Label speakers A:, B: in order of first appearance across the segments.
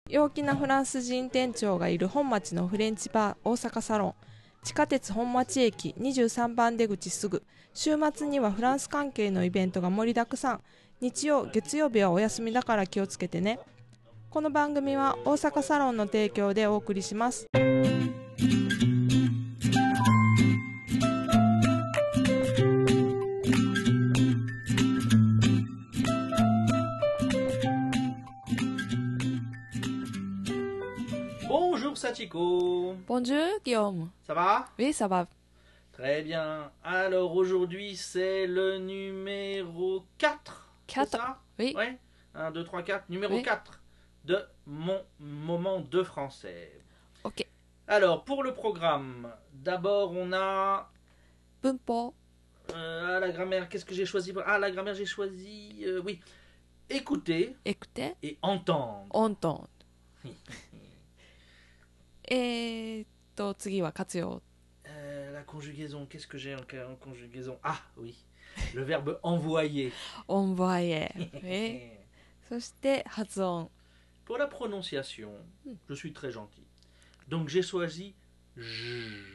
A: 陽気なフランス人店長がいる本町のフレンチバー大阪サロン。地下鉄本町駅23番出口すぐ。週末にはフランス関係のイベントが盛りだくさん。日曜月曜日はお休みだから気をつけてね。この番組は大阪サロンの提供でお送りします。
B: Bonjour Sachiko.
A: Bonjour Guillaume.
B: Ça va?
A: Oui, ça va.
B: Très bien. Alors aujourd'hui c'est le numéro 4.
A: 4.
B: C'est ça?
A: Oui.
B: Ouais. 1, 2, 3, 4. Numéro
A: Oui.
B: 4 de mon moment de français.
A: OK.
B: Alors pour le programme, d'abord on a...
A: 文法。
B: la grammaire, qu'est-ce que j'ai choisi? Ah, la grammaire j'ai choisi... oui. Écouter
A: Écouter.
B: et entendre.
A: Entendre. 次は活用。
B: La conjugaison, qu'est-ce que j'ai en conjugaison? Ah oui, le verbe envoyer.
A: envoyer. Oui. そして発音。
B: Pour la prononciation, je suis très gentil. Donc j'ai choisi j.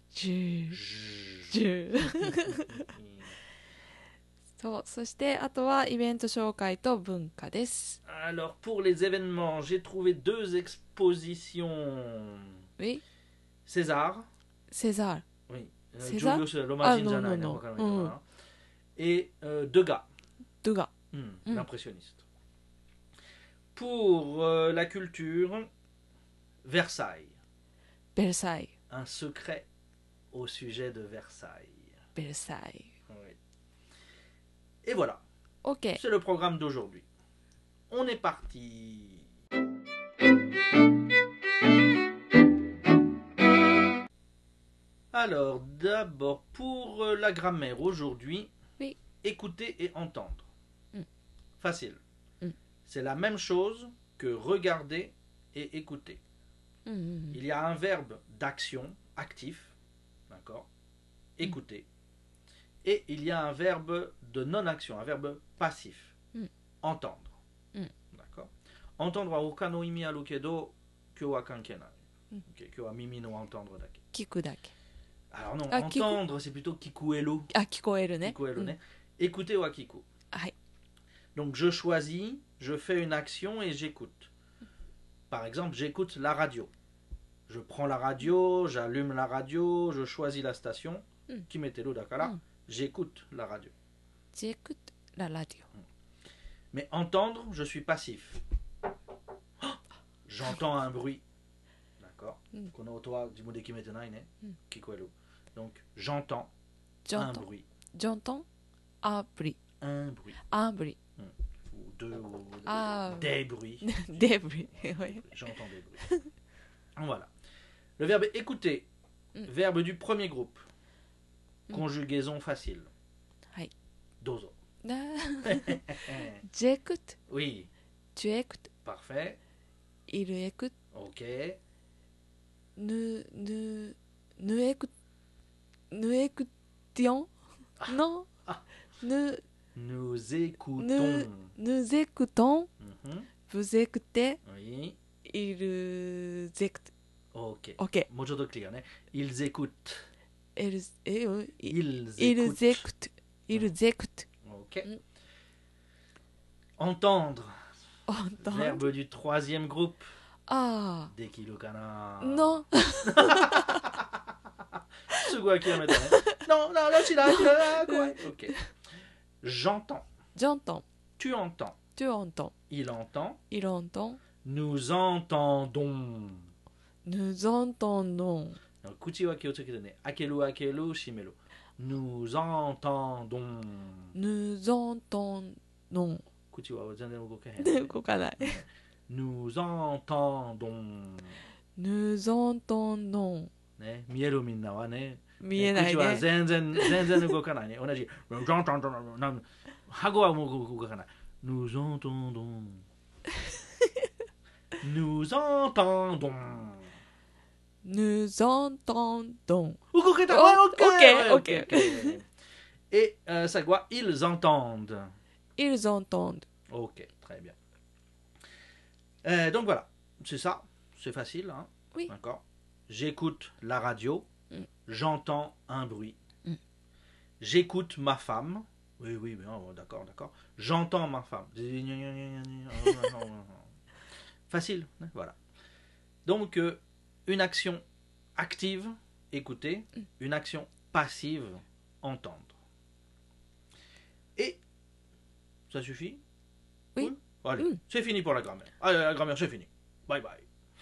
A: そう、そしてあとはイベント紹介と文化です。
B: Alors pour les événements, j'ai trouvé 2 expositions.
A: Oui.
B: César.
A: César.
B: Oui.
A: César?
B: Giulio Romagine
A: non,
B: Gianna,
A: non,
B: voilà,
A: non.
B: voilà. Et Degas.
A: Degas.
B: L'impressionniste. Pour la culture, Versailles.
A: Versailles.
B: Un secret au sujet de Versailles.
A: Versailles.
B: Oui. Et voilà.
A: OK.
B: C'est le programme d'aujourd'hui. On est parti. Alors, d'abord, pour la grammaire aujourd'hui,
A: oui.
B: Écouter et entendre. Facile.
A: うん
B: C'est la même chose que regarder et écouter. Il y a un verbe d'action, actif, d'accord, écouter. Et il y a un verbe de non-action, un verbe passif, entendre. D'accord. Entendre wa oka no imi aru kedo, kyo wa kanke nai. Kyo wa mimi no entendre dake.
A: 聞くだけ。
B: Alors non,
A: Ah,
B: entendre c'est plutôt kikuero.
A: あ、聞こえるね。
B: Kikuero ne. Écouter wa kiku.
A: はい。
B: Donc je choisis, je fais une action et j'écoute. Par exemple, j'écoute la radio. Je prends la radio, j'allume la radio, je choisis la station. Kimetero dakara, j'écoute la radio.
A: J'écoute la radio.
B: Mais entendre, je suis passif. J'entends un bruit. D'accord. Kono oto wa jimon de kimete nai ne. Kikoeru. Donc j'entends un bruit.
A: J'entends un bruit.
B: Un bruit.
A: Un bruit.
B: Ou deux, ou
A: Ah.
B: des bruits.
A: Des bruits. Oui.
B: J'entends des bruits. Voilà. Le verbe écouter. Verbe du premier groupe. Conjugaison facile.
A: Hai.
B: Dozo.
A: J'écoute.
B: Oui.
A: Tu écoutes.
B: Parfait.
A: Il écoute.
B: Ok.
A: Nous écoutions. Non.
B: Nous écoutons.
A: Nous écoutons. Vous écoutez.
B: Oui.
A: Ils écoutent.
B: Ok.
A: Ok.
B: もうちょっとクリアね。Ils écoutent.
A: Ils
B: Ils
A: écoutent. Ils écoutent.
B: Ok. Entendre.
A: Entendre.
B: Verbe du troisième groupe.
A: Ah.
B: Dekiru kana.
A: Non.
B: すぐ諦めたね。Non, non, là, tu l'as. Ok. J'entends.
A: J'entends.
B: Tu entends.
A: Tu entends.
B: Il entend.
A: Il entend.
B: Nous entendons.
A: Nous entendons.
B: 口は気をつけてね。開ける開ける閉める。Nous entendons.
A: Nous entendons.
B: 口は全然動けへん。
A: 動かない。
B: Nous entendons.
A: Nous entendons.
B: ね、見えるみんなはね。
A: 見えないね。
B: 口は全然動かないね。同じ。顎はもう動かない。Nous entendons. Nous entendons.
A: Nous entendons.
B: Ok. Et ça quoi? Ils entendent.
A: Ils entendent.
B: Ok, très bien. Donc voilà. c'est ça, c'est facile. Hein?
A: Oui.
B: D'accord. J'écoute la radio, j'entends un bruit. J'écoute ma femme. Oui, oui, mais d'accord, d'accord. J'entends ma femme. Facile, hein, voilà. Donc, une action active, écouter, une action passive, entendre. Et ça suffit?
A: Oui.
B: Allez, c'est fini pour la grammaire. Allez, la grammaire, c'est fini. Bye bye.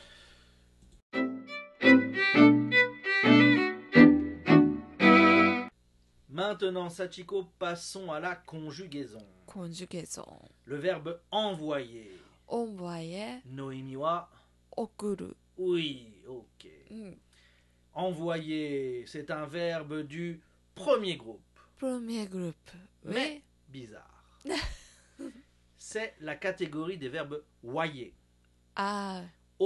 B: Maintenant, Sachiko, passons à la conjugaison.
A: Conjugaison.
B: Le verbe envoyer.
A: Envoyer.
B: Noimi wa.
A: Okuru.
B: Oui, ok. Envoyer, c'est un verbe du premier groupe.
A: Premier groupe.
B: Mais bizarre. C'est la catégorie des verbes voyer.
A: Ah.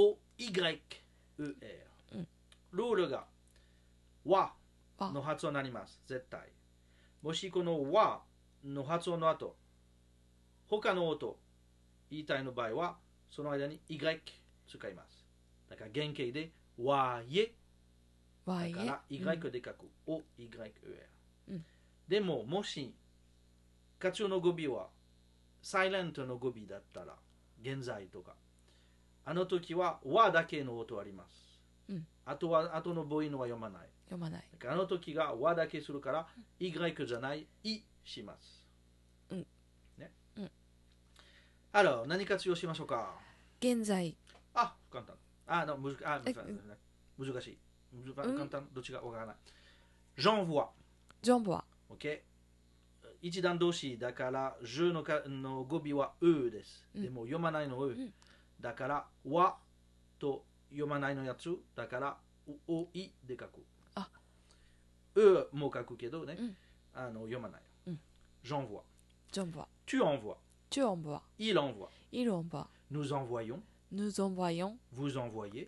B: O-Y-E-R. Lure ga wa no hatsuon narimasu. Zettai. Moshi kono wa no hatsuon no ato, hoka no oto iitai no bai wa, sono aida ni y tsukaimasu. だから原型でわyeだから y で書く O-Y-E-R、でももしカツオの語尾はサイレントの語尾だったら現在とかあの時はわだけの音あります、あとは後の母音は読まない。あの時がわだけするから Y じゃないいします、ね。Alors 何活用しましょうか。
A: 現在。
B: あ、簡単。難しい。簡単。どっちがわからない。j'envoie。OK。一段動詞だから、je の語尾はうです。でも読まないのう。だから、わと読まないのやつ。だから、おいで書く。うも書くけどね。読まない。j'envoie。tu envoies。il envoie。nous envoyons。vous envoyez.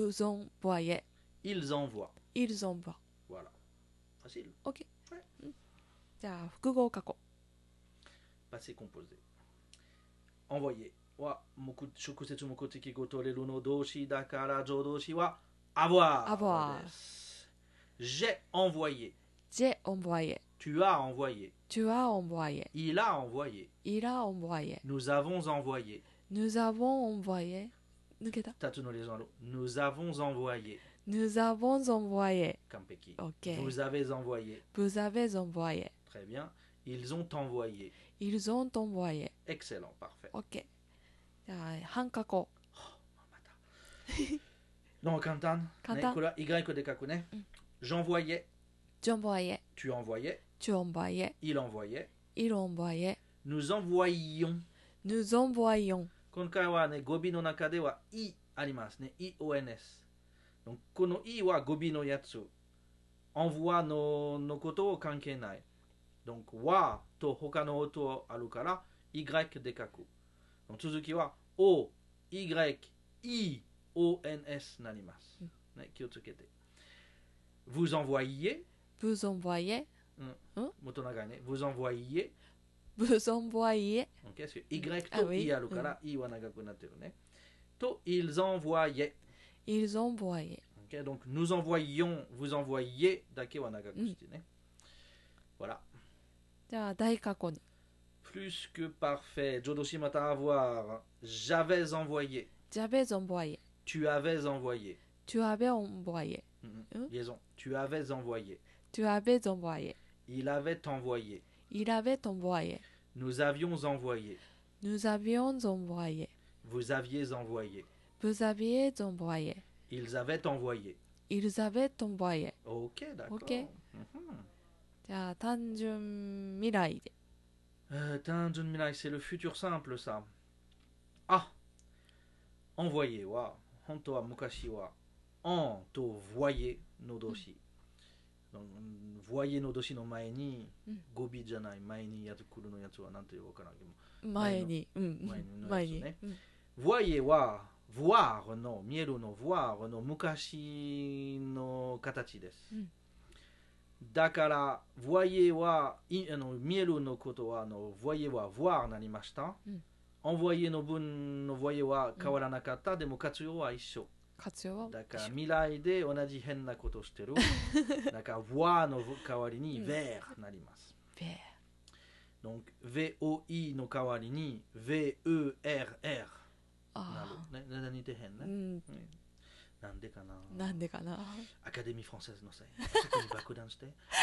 B: ils envoient. Voilà. Facile.
A: OK. Ouais. じゃあ複合過去。
B: passé composé. envoyer は直接目的語取れるの動詞だから助動詞は avoir です。j'ai envoyé. tu as envoyé. il a envoyé. nous avons envoyé. 抜けた。2つのリゾンある。nous avons envoyé. 完璧。
A: OK.
B: vous avez envoyé. très bien. ils ont envoyé. excellent, parfait.
A: OK. じゃあ半過去。
B: また。donc簡単。ね、これは Y で書くね。j'envoyais. tu envoyais. il envoyait. nous envoyions. 今回はね、語尾の中では い ありますね。IONS。この い は語尾のやつ。envoie のことを関係ない。はと他の音あるから Y で書く。続きは O、Y、I、O-N-S なります。ね、気をつけて。vous envoyez。もっと長いね。vous envoyez。
A: vous envoyez.
B: OK, parce que Y と I あるから、I は長くなってるね。と、ils envoyaient. OK, donc nous envoyions, vous envoyez だけは長くしてね。voilà.
A: じゃあ大過去に。
B: plus que parfait. 助動詞また avoir. j'avais envoyé. tu avais envoyé. liaison. tu avais envoyé. il avait envoyé. nous avions envoyé. vous aviez envoyé. ils avaient envoyé. OK, d'accord.
A: OK. じゃあ単純未来で。
B: 単純未来 c'est le futur simple ça. Ah, envoyer は本当は昔は en と voyer の動詞。voyer の動詞の前に語尾じゃない前にやつ来るのやつはなんていうわからんけど
A: 前に
B: ね。voyer は voir の見えるの voir の昔の形です。だから voyer は見えるのことはvoyer は voir なりました。 envoyerの文のvoyerは変わらなかった、でも活用は一緒。
A: 活用は
B: だから未来で同じ変なことしてる。だから voir の代わりに ver なります。Donc VOI の代わりに VERR なる。ね、似てへんね。なんでかな。
A: なんでかな。
B: アカデミーフランセーズのせい。そこに爆弾して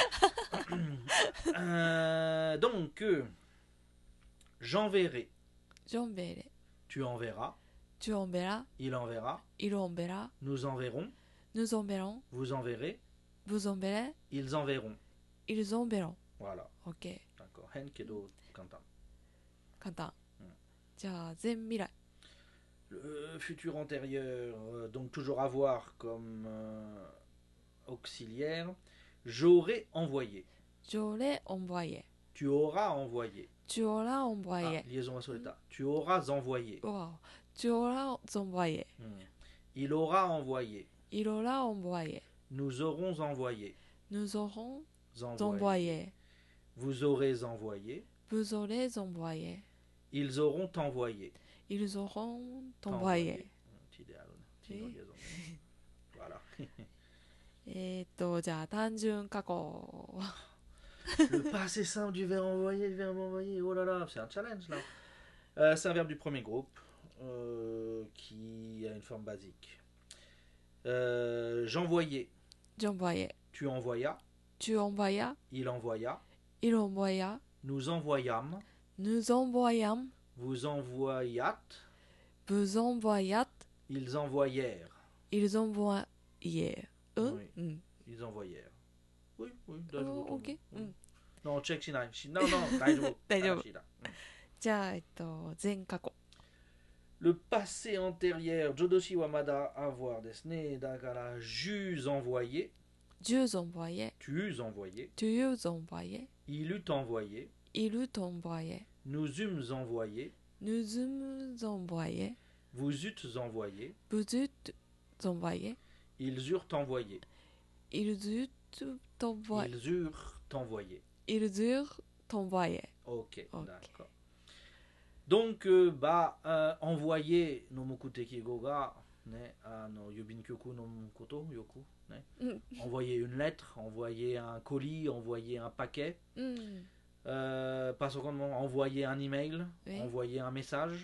B: 。Donc, j'enverrai.
A: J'enverrai.
B: Tu enverras.
A: Tu enverras.
B: Il enverra.
A: Il enverra.
B: Nous enverrons.
A: Nous enverrons.
B: Vous enverrez.
A: Vous enverrez.
B: Ils enverront.
A: Ils enverront.
B: Voilà.
A: OK.
B: D'accord. 変けど簡単。
A: 簡単。じゃあ前未来。
B: Le futur antérieur, donc toujours avoir comme auxiliaire. J'aurais envoyé.
A: J'aurais envoyé.
B: Tu auras envoyé.
A: Tu auras envoyé.
B: Liaison à soleta. Tu auras envoyé.
A: Wow. Tu auras envoyé.
B: Il aura envoyé.
A: Il aura envoyé.
B: Nous aurons envoyé.
A: Nous aurons envoyé.
B: Vous aurez envoyé.
A: Vous aurez envoyé.
B: Ils auront envoyé.
A: Ils auront envoyé.
B: Voilà.
A: じゃあ単純過去。
B: Le passé simple du verbe envoyer, le verbe envoyer. Oh là là, c'est un challenge là. C'est un verbe du premier groupe qui a une forme basique. J'envoyais.
A: J'envoyais.
B: Tu envoyas.
A: Tu envoyas.
B: Il envoya.
A: Il envoya.
B: Nous envoyâmes.
A: Nous envoyâmes.
B: Vous envoyâtes.
A: Vous envoyâtes.
B: Ils envoyèrent.
A: Ils envoyèrent.
B: Oui. Ils envoyèrent. Oui, oui,
A: OK.
B: Non, checkしない。No, no, 大丈夫。
A: 大丈夫。じゃあ、前過去。
B: Le passé antérieur, Jodoshi Wamada avoir desne, dakara, j'eus envoyé.
A: J'eus envoyé.
B: Tu eus envoyé.
A: Tu eus envoyé.
B: Il eut envoyé.
A: Il eut envoyé.
B: Nous eûmes envoyé.
A: Nous eûmes envoyé.
B: Vous eûtes envoyé.
A: Vous eûtes envoyé.
B: Ils eurent envoyé.
A: Ils eurent envoyé.
B: Ils eurent envoyé.
A: Ils eurent envoyé.
B: Ok, d'accord. Donc, envoyer no mokuteki go ga, yobin kyoku no koto, yoku, envoyer une lettre, envoyer un colis, envoyer un paquet, pas seulement envoyer un email, envoyer un message.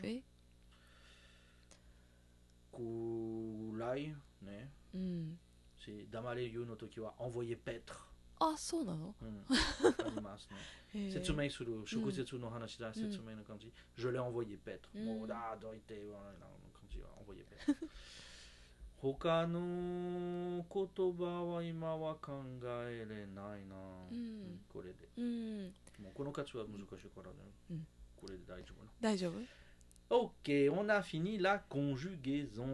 B: Kulai, c'est damare yu no toki wa envoyer paître.
A: Ah, そうなの？
B: ありますね。説明する、食説の話だ、説明の感じ。Je l'ai envoyé paître. もうだ、どいて、の感じは envoyé paître。他の言葉は今は考えれないな。これで。もうこの価値は難しいからね。これで大丈夫な。
A: 大丈夫？
B: Ok, on a fini la conjugaison.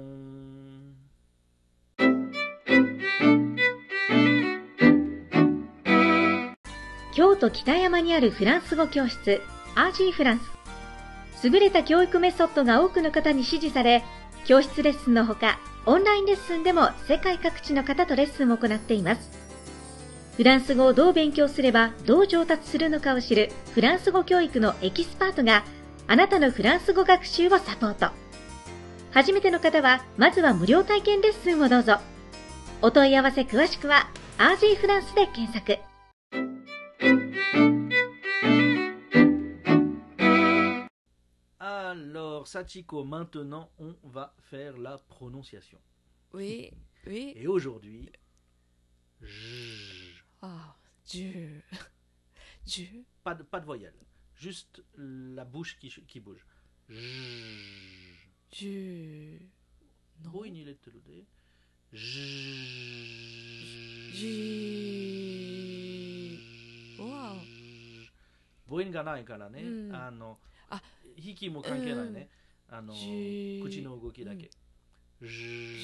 C: 京都北山にあるフランス語教室 RG フランス。優れた教育メソッドが多くの方に支持され、教室レッスンのほかオンラインレッスンでも世界各地の方とレッスンを行っています。フランス語をどう勉強すればどう上達するのかを知るフランス語教育のエキスパートがあなたのフランス語学習をサポート。初めての方はまずは無料体験レッスンをどうぞ。お問い合わせ詳しくは RG フランスで検索。
B: Alors, Sachiko, maintenant, on va faire la prononciation.
A: Oui, oui.
B: Et aujourd'hui, pas de voyelle, juste la bouche qui bouge.
A: Wow.
B: 母音がないからね、息も関係ないね、口の動きだけ。母音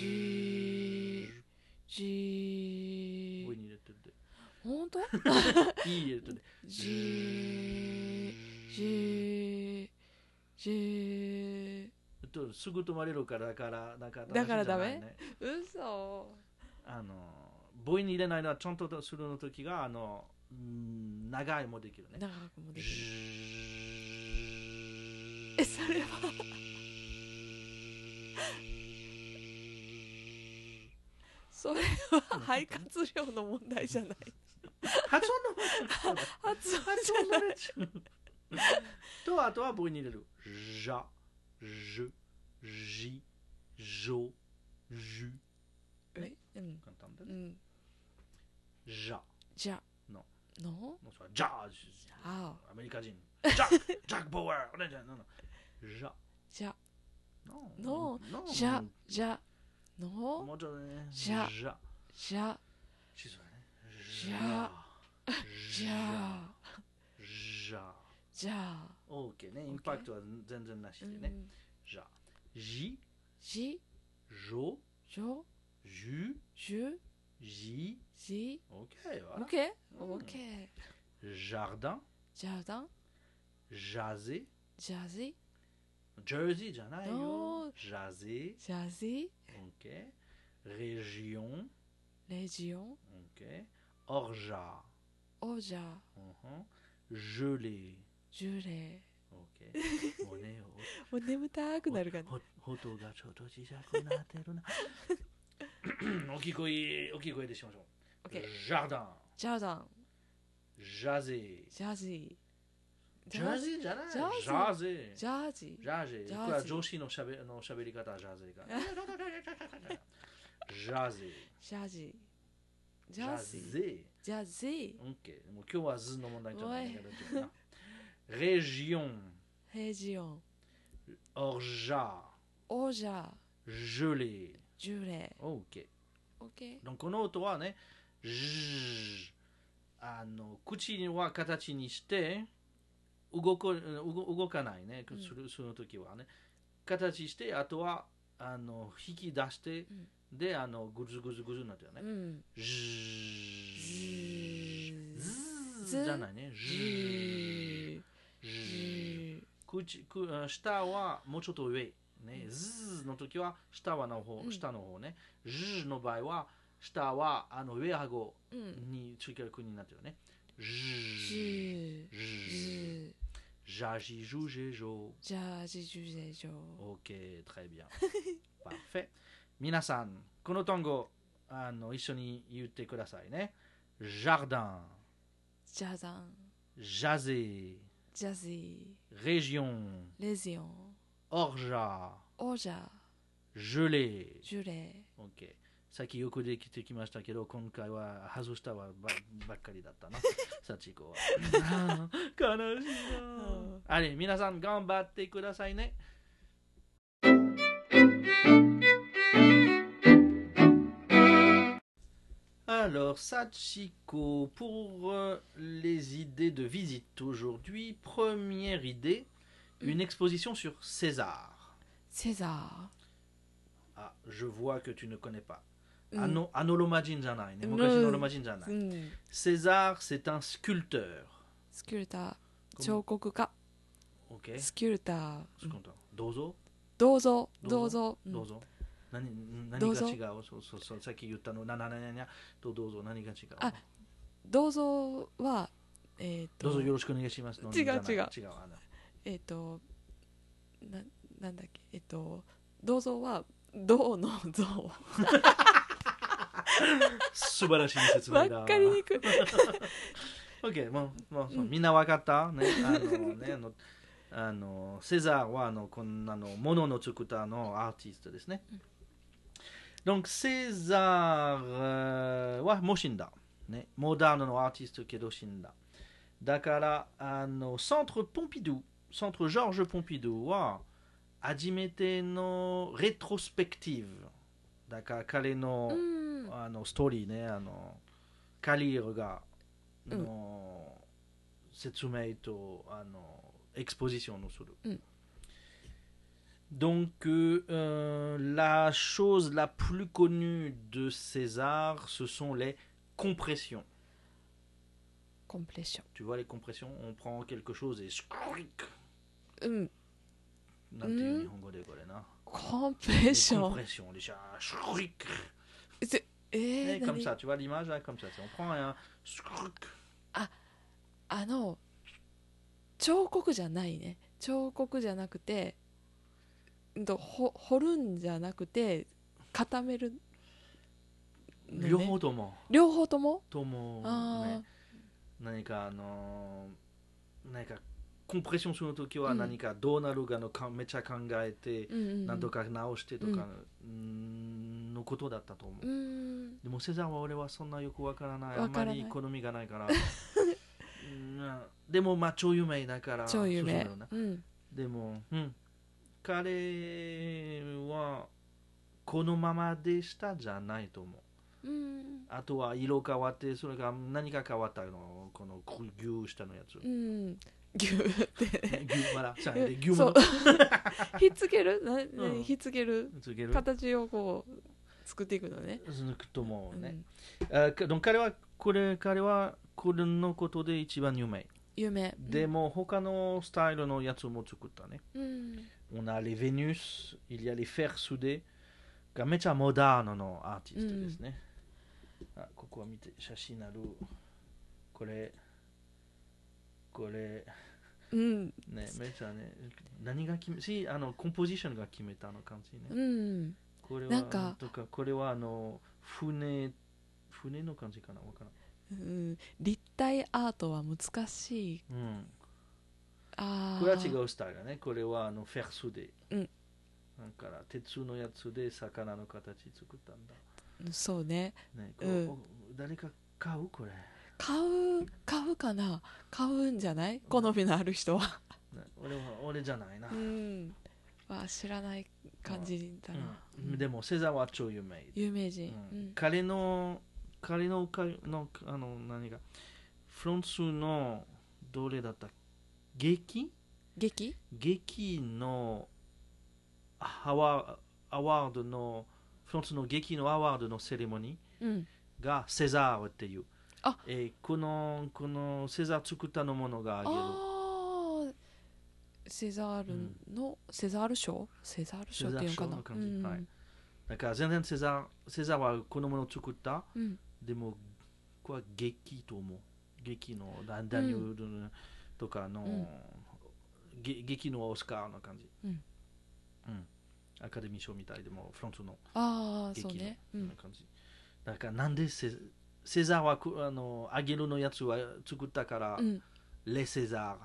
B: 入れてるで。
A: 本当？
B: いい入れてるで。すぐ止まれるからだから
A: ダメ？嘘。
B: 母音入れないのはちゃんとするの時が長いもできるね。
A: 長くもできる。 それはそれは肺活量の問題じゃない。
B: 発音の
A: 発音
B: 発音のやつとあとは母音に入れる。じゃ、じ、じ、じょ、じゅ。
A: 簡単だね。
B: じゃ。
A: じゃ。
B: の。
A: の。
B: じゃあ。アメリカ人。ジャック・ボーアー。じゃ。
A: じゃ。
B: の。
A: じゃ。じゃ。の。
B: もうちょっとね。
A: じゃ。
B: じゃ。
A: じゃ。じゃ。じゃ。
B: じゃ。
A: じゃあ
B: OK ね、インパクトは全然なしでね。じゃあ、じ、
A: じ、
B: じょ、
A: じょ、
B: じゅ、
A: じゅ、
B: じ、
A: じ、
B: OK、
A: OK、OK。
B: jardin、
A: ジャーダン、
B: ジャゼ、
A: ジャズィ、
B: ジャージーじゃないよ。ジャゼ、
A: ジャズィ、
B: OK、région、
A: レジオン、
B: OK、orgeat、
A: オージャー、
B: gelé、
A: ジュレ
B: OK。もうね、
A: もう眠たくなるかな。
B: 音がちょっと小さくなってるな。大きい声でしましょう。
A: OK。
B: ジャーダン。
A: ジャーダン。
B: ジャゼー。
A: ジャズィ。
B: ジャゼーじゃない。
A: ジャゼ
B: ジャゼー。
A: ジャージ。
B: ジャゼー。これは上司のしゃべり方はジャゼーが。ジャゼー。
A: ジャジ。
B: ジャゼー。
A: ジャゼー。
B: OK。もう今日は図の問題じゃないけど。région。
A: レジオン。
B: orgeat。
A: オージャー。
B: gelé。
A: ジュレ。
B: OK。
A: OK。
B: この音はね、口は形にして動かないね、その時はね。形して、あとは引き出して、で、ぐずぐずぐずになってるね。ズじゃないね。下はもうちょっと上。ね、ズの時は下の方ね。ズの場合は下は上顎につける国になってるね。ジャジジュジェジョ。
A: ジャジジュジェジョ。
B: OK、très bien。Parfait。皆さん、この単語一緒に言ってくださいね。jardin、
A: ジャダン、
B: ジャゼー、
A: ジャズィ、
B: région、
A: レジオン、
B: orgeat、
A: オージャー、
B: gelé。
A: ジュレ。
B: OK。さっきよくできてきましたけど、今回は外したばっかりだったな。サチコは。悲しいな。あれ、皆さん頑張ってくださいね。Alors, Sachiko, pour les idées de visite aujourd'hui, première idée, une exposition sur César.
A: César.
B: Ah, je vois que tu ne connais pas. Anolomajin janai, ne mukashi no Romajin janai. César, c'est un sculpteur.
A: スキュルター、彫刻家。
B: OK。
A: スキュルター。
B: どうぞ。
A: どうぞ。どうぞ。
B: どうぞ。何が違う？そうさっき言ったのどうぞ何が違う？
A: あ、どうぞは
B: どうぞよろしくお願いします。
A: 違う。なんだっけどうぞは銅の像。
B: 素晴らしい説明だ。
A: わかりにくい。
B: OK、もうみんなわかったね。セザーはこんなのものの作ったアーティストですね。Donc Césarはもう死んだ、ね、モダンのアーティストけど死んだ。だからCentre Pompidou、Centre Georges Pompidouは初めてのレトロスペクティブだから彼の、ストーリーね、カリーがの説明とエクスポジションをする。Donc, la chose la plus connue de César, ce sont les compressions.
A: Compression.
B: Tu vois les compressions? On prend quelque chose et scrick.
A: Compression.
B: Compression, déjà. Scrick.
A: Et
B: comme ça, tu vois l'image là, comme ça. On prend un scrick.
A: 彫刻じゃないね。 彫刻じゃなくて、掘るんじゃなくて固めるのね。
B: 両方とも
A: 両方とも
B: ね、何か何かコンプレッションするときは何かどうなるかのめっちゃ考えて、何とか直してとかのことだったと思う。でもセザーは俺はそんなよくわからない。あんまり好みがないから。でもまあ超有名だから。
A: 超有名。
B: でも、彼はこのままでしたじゃないと思う。あとは色変わって、それが何か変わったの、この牛下のやつ。
A: 牛って
B: 牛も
A: ひっつけるひっつける形をこう作っていくのね。
B: と思うね。彼はこれのことで一番有名。でも他のスタイルのやつも作ったね。On a les Vénus, il y a les Fers soudés がめちゃモダンのアーティストですね。ここは見て、写真ある。これね、めっちゃね、何が決め、コンポジションが決めたの感じね。これはなんかこれは船の感じかな、わからん。
A: 立体アートは難しい。
B: これは違うスタイルね。これはフェルスで。だから鉄のやつで魚の形作ったんだ。
A: そうね。
B: 誰か買うこれ。
A: 買うかな。買うんじゃない？好みのある人は。
B: 俺じゃないな。
A: 知らない感じだな。
B: でもセザーは超有名。
A: 有名人。
B: 彼の何がフランスのどれだった劇のアワードのフランスの劇のアワードのセレモニーがセザーっていう。このセザー作ったのものがあげる。
A: セザール賞っていうかな。
B: だから全然セザーはこのものを作った。でもこれは劇と思う。劇のダニエルとかの劇のオスカーの感じ。アカデミー賞みたいでもフランスの劇の感じ。だからなんでセザーはアゲルのやつは作ったから、レセザ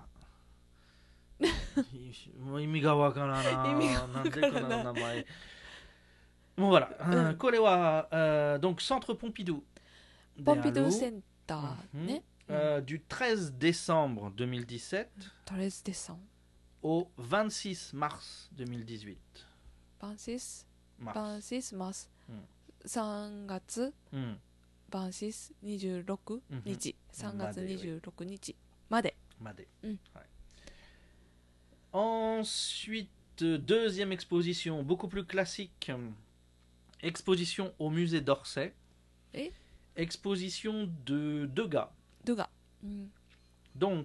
B: ー。もう意味がわからない。なんでこの名前。もうvoilà。これは、donc Centre Pompidou。
A: Pompidou Center ね。
B: Du 13 décembre 2017
A: 13 décembre
B: au 26 mars 2018.
A: 26 mars 3月26 26日3月26日まで。
B: Ensuite, deuxième exposition beaucoup plus classique, exposition au musée d'Orsay. Exposition de Degas. Donc,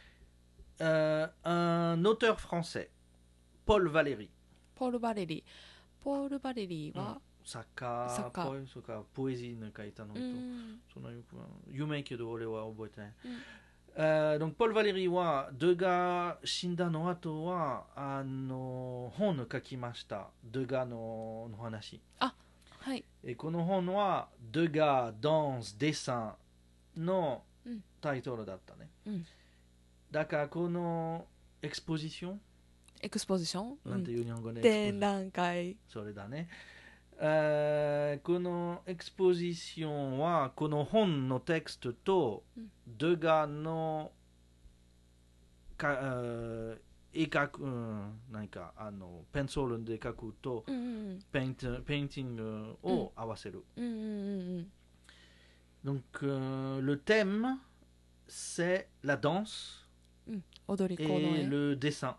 B: un auteur français, Paul Valéry.
A: Paul Valéryは
B: 作家ポエジーの書いたのと、そのよく有名けど俺は覚えてない。donc Paul Valéry はデガ死んだの後は本を書きました。デガの話。この本はデガダンスデッサンのタイトルだったね。だからこのエクスポジションなんていう日本語で
A: 展覧会。
B: それだね。このエクスポジションはこの本のテクストとデガの絵描く、何かペンソールで描くと、ペインティングを合わせる。Donc le thème c'est la danse et le dessin.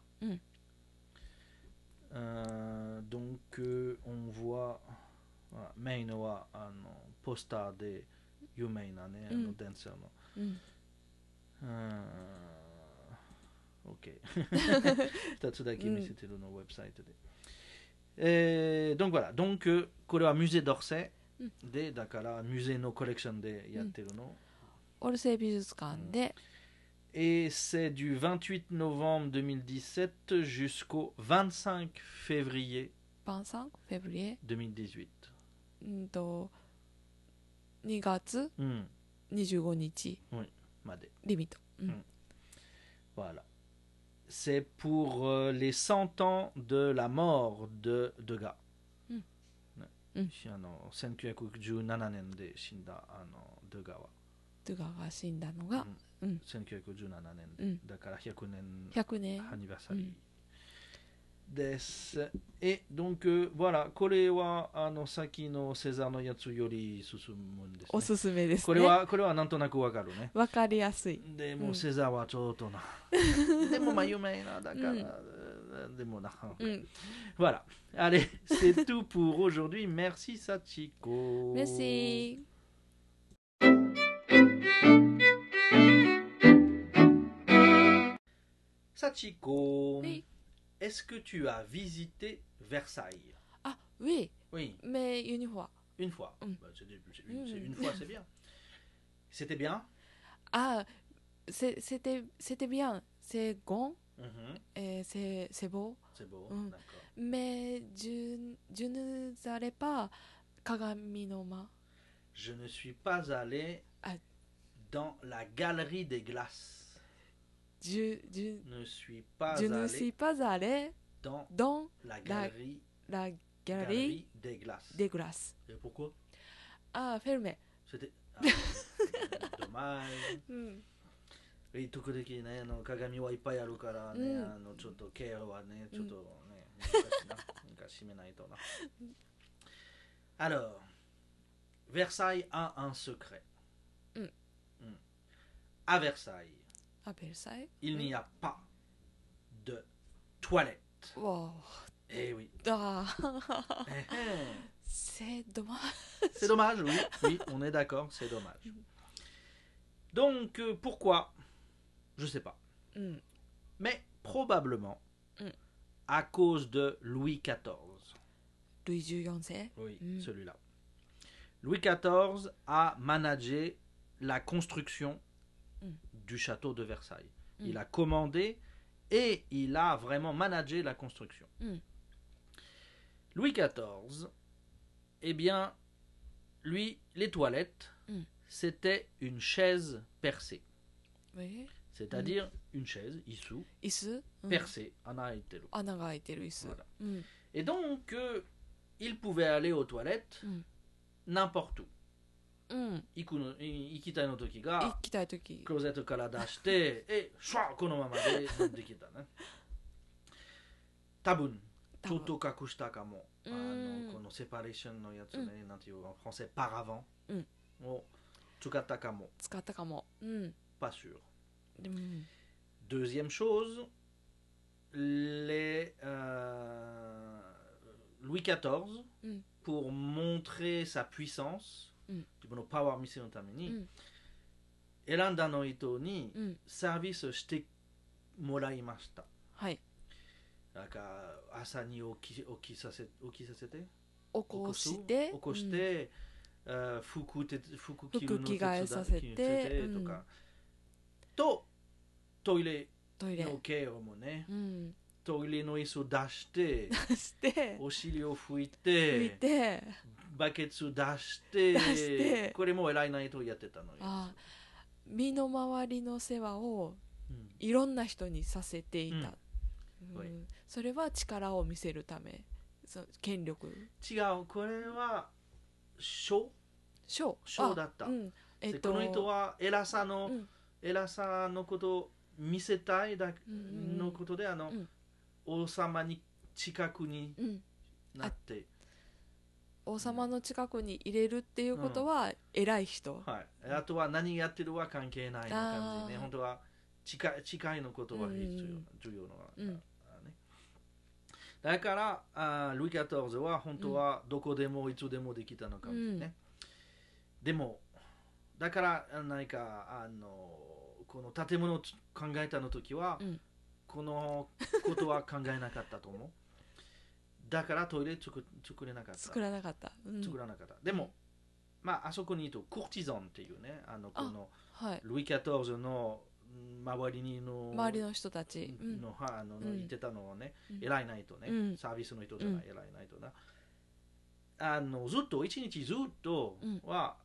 B: Donc on voit メインはポスターで有名なねダンサーの。OK 2つだけ見せてるのウェブサイトで。donc voilà donc これはミュゼドルセでだからミュゼのコレクションでやってるの。
A: オルセイ美術館で
B: Et c'est du 28 novembre 2017 jusqu'au 25 février
A: 25 février
B: 2018.
A: 2月
B: うん。
A: 25日
B: まで。
A: リミット、
B: Voilà. C'est pour les 100 ans de la mort de Degas. 1917年で死んだデガは。
A: デガが死んだのが、
B: 1917年で、だから100年
A: 100年
B: アニバーサリーです。Et donc voilà、これは先のセザーのやつより進むんですね。
A: おすすめですね。
B: これはなんとなくわかるね。
A: わかりやすい。
B: でも、セザーはちょっとな。でも有名なだから、でもな。Voilà. Allez, c'est tout pour aujourd'hui. Merci Sachiko.
A: Merci.
B: Sachiko,
A: oui.
B: Est-ce que tu as visité Versailles?
A: Ah oui.
B: Oui.
A: Mais une fois.
B: Une fois. Bah, une fois, c'est bien. C'était bien?
A: Ah, c'était bien. C'est bon. C'est beau.
B: C'est beau, d'accord.
A: Mais je n'allais pas Kagami no Ma.
B: Je ne suis pas allé dans la galerie des glaces.
A: Je
B: ne suis pas
A: allé dans
B: la galerie des glaces. Et pourquoi?
A: Ah, fermé.
B: C'était dommage. 時々ね、鏡はいっぱいあるからね、ちょっとケアはね、ちょっとね、難しいな。閉めないとな。Alors, Versailles a un secret. À Versailles, il n'y a pas de toilette.
A: Wow.
B: Eh oui.
A: Ah. C'est dommage.
B: C'est dommage, oui. Oui, on est d'accord, c'est dommage. Donc, pourquoi? Je sais pas. Mais probablement à cause de Louis XIV.
A: Louis XIV.
B: Oui, celui-là. Louis XIV a managé la construction du château de Versailles. Il a commandé et il a vraiment managé la construction. Louis XIV, eh bien, lui, les toilettes, c'était une chaise percée.
A: Oui.
B: C'est-à-dire une chaise, isu, percée, anaiteru. Voilà. Et donc, il pouvait aller aux toilettes n'importe où. 行きたいの時がクローゼットから出してシュワッこのままでできたね。多分ちょっと隠したかも。このセパレーションのやつね、なんていうの、フランセパラヴァンを使ったかも。Pas sûr. Deuxième chose, Louis XIV, pour montrer sa puissance, 自分のパワー見せるために、選んだの人にサービスしてもらいました。はい。なんか朝に起きさせて、起こして、服着るの手伝させてとか、とトイレのケアもね、トイレの椅子を出して、お尻を拭いて、バケツ出して、これも偉いないとやってたのよ。
A: 身の回りの世話をいろんな人にさせていた。それは力を見せるため、権力。
B: 違う、これは賞だった。この人は偉さのことを見せたいのことで、王様に近くになって。
A: 王様の近くに入れるっていうことは偉い人、
B: あとは何やってるは関係ない感じね。本当は近いのことは重要な、だからルイ14は本当はどこでもいつでもできたのかもしれないね。でもだから何かこの建物を考えたの時は、このことは考えなかったと思う。だからトイレ作らなかった。でも、まあ、あそこにいるとコーティザンっていうね、このルイ14の周りの
A: 人たち
B: 言ってたのはね、偉いないとね、サービスの人じゃない、偉いないとな。ずっと一日ずっとは、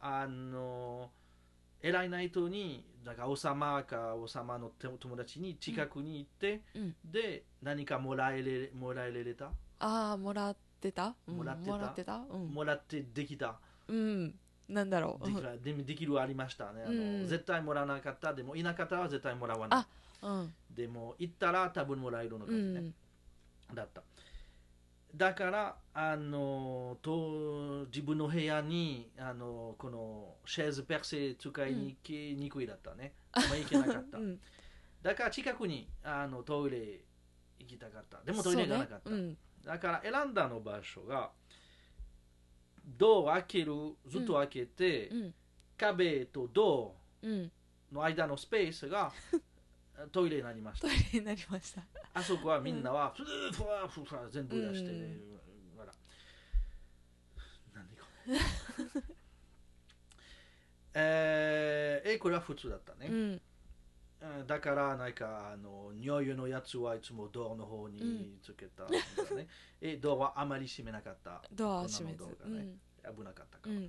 B: 偉いないとにだから王様の友達に近くに行って、で何かもらえれた。
A: もらってた、もら
B: ってできた。
A: なんだろう。
B: できるありましたね。絶対もらわなかった。でもいなかったら絶対もらわない。でも行ったら多分もらえるのかもね。だった。だから自分の部屋にこのシェーズペルセ使いに行きにくいだったね。行けなかった。だから近くにトイレ行きたかった。でもトイレがなかった。だから選んだの場所がドアを開ける、ずっと開けて、壁とドアの間のスペースがトイレになりました。あそこはみんなは全部出して、何かこれは普通だったね。だからなんか匂いのやつはいつもドアの方につけたんだね。ドアはあまり閉めなかった。
A: ドアは閉めず、
B: 危なかったから。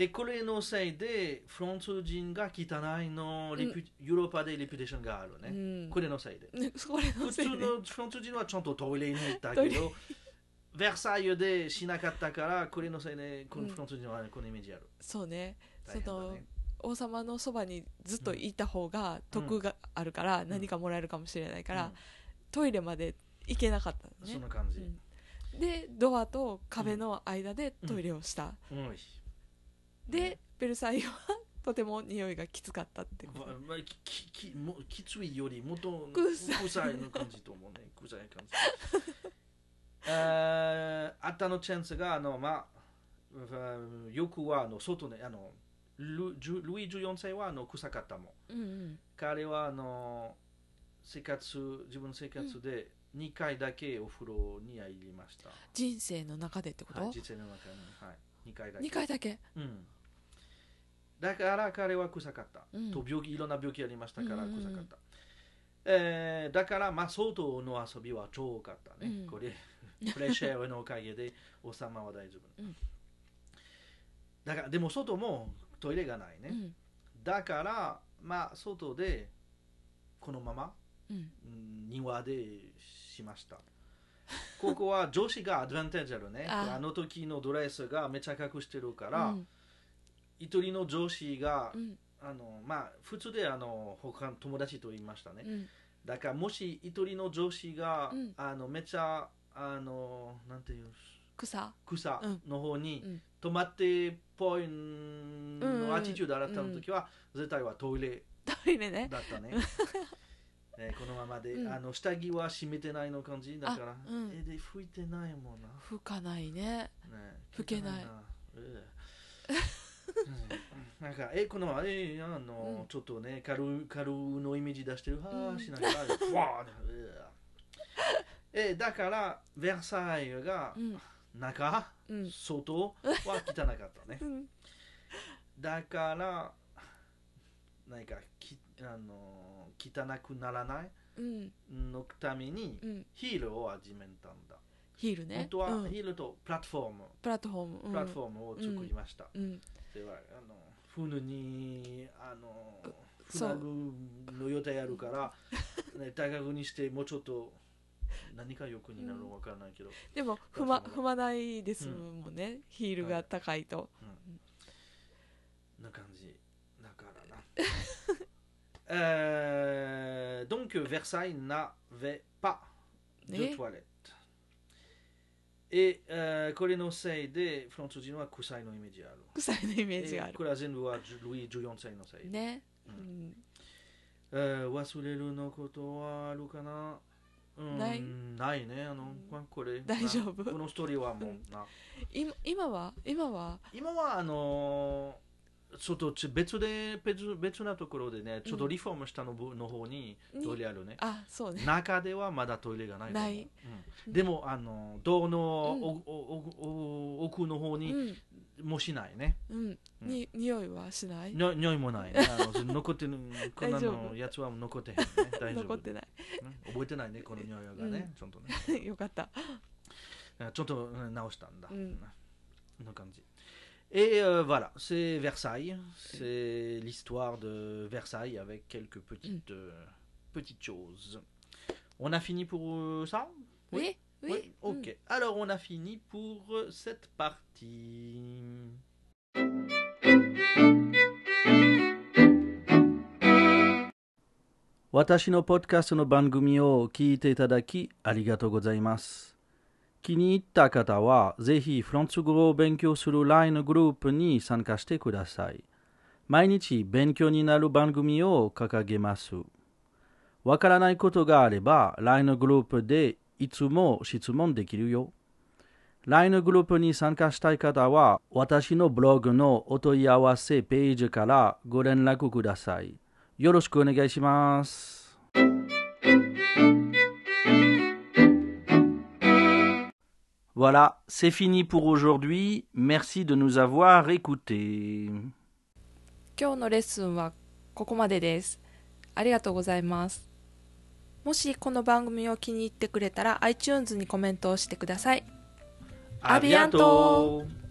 B: これのせいでフランス人が汚いの、ヨーロッパでレピュテーションがあるね。これのせいで。普通のフランス人はちゃんとトイレに行ったけど、ベルサイユでしなかったから、これのせいでフランス人はこのイメージある。
A: そうね。王様のそばにずっといた方が得があるから、何かもらえるかもしれないから、トイレまで行けなかったね。
B: そんな感じ。
A: でドアと壁の間でトイレをした。でベルサイユはとても匂いがきつかったってこと。
B: きついよりもっと臭いの感じと思うね。臭い感じ。あったのチャンスがよくは外ねルイ14世は臭かったもん。彼は自分の生活で2回だけお風呂に入りました。
A: 人生の中でってこと？
B: 人生の中に、2回だけ。
A: 2回だけ。
B: だから彼は臭かった。いろんな病気ありましたから臭かった。だから外の遊びは超多かったね。これフレッシュエアのおかげで王様は大丈夫。だからでも外もトイレがないね。だから外でこのまま庭でしました。ここは女子がアドバンテージあるね。あの時のドレスがめちゃ隠してるから、一人の女子が、普通で他の友達と言いましたね。だからもし一人の女子が、めちゃなんていう
A: 草
B: の方に、止まってっぽいのアティチュードだったの時は、絶対はトイレ
A: ね
B: だったね。このままで、下着は閉めてないの感じだから、で拭いてないもんな。
A: 拭かないね。拭けない。
B: なんかこのままでちょっとねカルのイメージ出してるしながらだからベルサイユが中、外は汚かったね。だから何か汚くならないのためにヒールを始めたんだ。
A: ヒールね。
B: 本当はヒールとプラットフォームを作りました。では船に船の予定あるから高くにしてもうちょっと何か欲になるのか分からないけど、
A: でも踏まないですもんね、ヒールが高いと。
B: な感じだからな。Donc Versailles n'avait pas de toilette. これのせいでフランス人は臭いのイメージある。
A: 臭いのイメージがある。
B: これは全部はルイ14世のせい
A: ね。
B: 忘れるのことはあるかな。ないね。これ
A: 大丈夫。
B: このストーリーはもうな。
A: 今は
B: ちょっと別なところでね、ちょっとリフォームしたの方にトイレあるね。
A: そうね。
B: 中ではまだトイレがない。でもドアの奥の方にもうしないね。
A: 匂いはしない？
B: 匂いもないね。残ってる、こんなのやつは残ってへんね。大丈夫。
A: 残ってない。
B: 覚えてないね、この匂いがね。ちょっとね。
A: よかった。
B: ちょっと直したんだ。こんな感じ。Et voilà, c'est Versailles. C'est l'histoire de Versailles avec quelques petites choses. On a fini pour ça?
A: Oui.
B: Ok. Alors on a fini pour cette partie. 私のポッドキャストの番組を聞いていただきありがとうございます。気に入った方はぜひフランス語を勉強する LINE グループに参加してください。毎日勉強になる番組を掲げます。わからないことがあれば LINE グループでいつも質問できるよ。LINE グループに参加したい方は私のブログのお問い合わせページからご連絡ください。よろしくお願いします。Voilà, c'est fini pour aujourd'hui. Merci de nous avoir écoutés.
A: 今日のレッスンはここまでです。ありがとうございます。もしこの番組を気に入ってくれたら iTunes にコメントをしてください。
B: ありがとう。